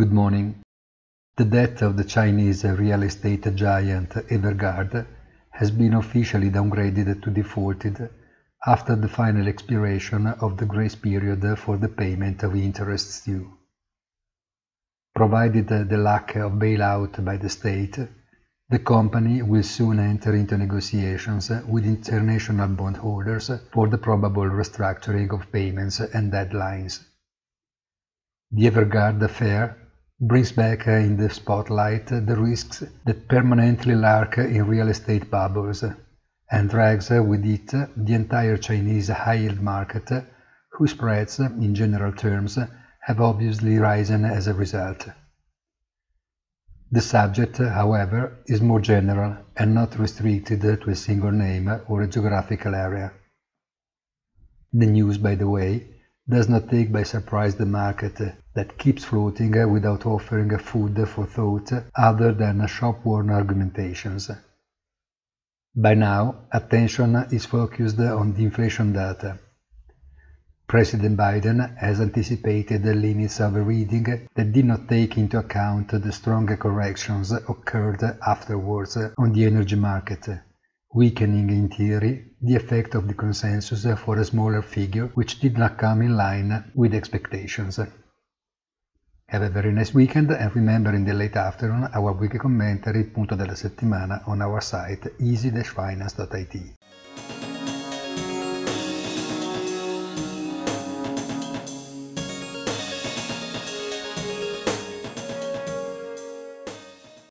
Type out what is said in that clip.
Good morning. The debt of the Chinese real estate giant Evergrande has been officially downgraded to defaulted after the final expiration of the grace period for the payment of interests due. Provided the lack of bailout by the state, the company will soon enter into negotiations with international bondholders for the probable restructuring of payments and deadlines. The Evergrande affair brings back in the spotlight the risks that permanently lurk in real estate bubbles, and drags with it the entire Chinese high-yield market, whose spreads, in general terms, have obviously risen as a result. The subject, however, is more general and not restricted to a single name or a geographical area. The news, by the way, does not take by surprise the market, that keeps floating without offering food for thought other than shop-worn argumentations. By now, attention is focused on the inflation data. President Biden has anticipated the limits of a reading that did not take into account the stronger corrections occurred afterwards on the energy market, weakening in theory the effect of the consensus for a smaller figure which did not come in line with expectations. Have a very nice weekend, and remember in the late afternoon our weekly commentary, Punto della Settimana, on our site easy-finance.it.